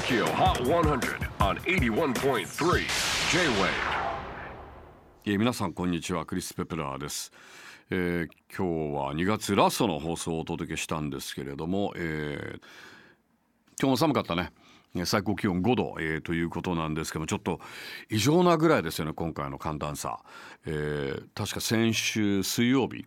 TOKYO HOT 100 on 81.3 J-WAVE。 皆さんこんにちは、クリス・ペプラーです。今日は2月ラストの放送をお届けしたんですけれども、今日も寒かったね。最高気温5度、ということなんですけども、ちょっと異常なぐらいですよね、今回の寒暖差。確か先週水曜日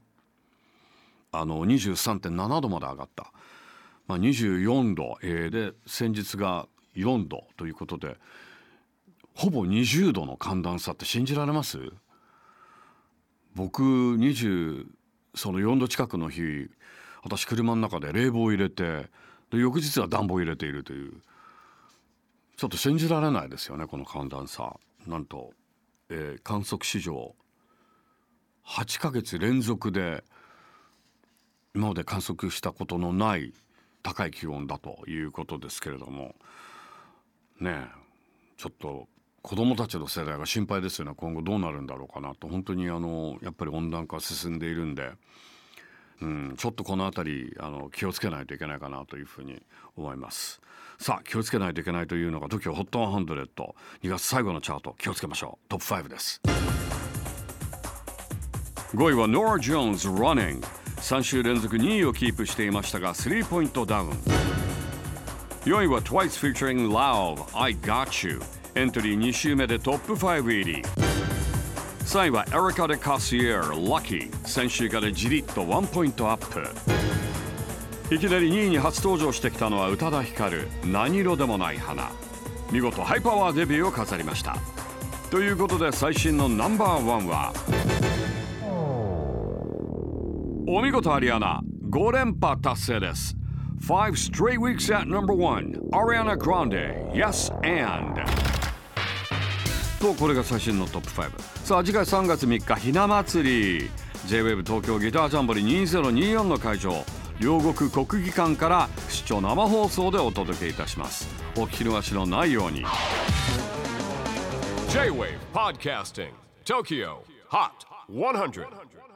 23.7 度まで上がった、24度、で先日が4度ということで、ほぼ20度の寒暖差って信じられます？僕24度近くの日、私車の中で冷房を入れて、で翌日は暖房を入れているという、ちょっと信じられないですよね、この寒暖差。なんと、観測史上8ヶ月連続で今まで観測したことのない高い気温だということですけれどもね。ちょっと子どもたちの世代が心配ですよね。今後どうなるんだろうかなと。本当にやっぱり温暖化進んでいるんで、ちょっとこのあたり気をつけないといけないかなというふうに思います。さあ、気をつけないといけないというのが TOKYO HOT 100、 2月最後のチャート、気をつけましょう。トップ5です。5位は Norah Jones Running。 3週連続2位をキープしていましたが3ポイントダウン。4位は Twice featuring Lauv I Got You。 エントリー2週目でトップ5入り。3位は Erica de Cassier Lucky。 先週からじりっと1ポイントアップ。いきなり2位に初登場してきたのは宇多田ヒカル、何色でもない花。見事ハイパワーデビューを飾りました。ということで最新のナンバー1は、お見事アリアナ、5連覇達成です。5 straight weeks at number 1 Ariana Grande Yes and と、これが最新のトップ5。さあ、次回3月3日ひな祭り、 J-WAVE 東京ギタージャンボリー2024の会場、両国国技館から視聴生放送でお届けいたします。お聞き逃しのないように。 J-WAVE PODCASTING TOKYO HOT 100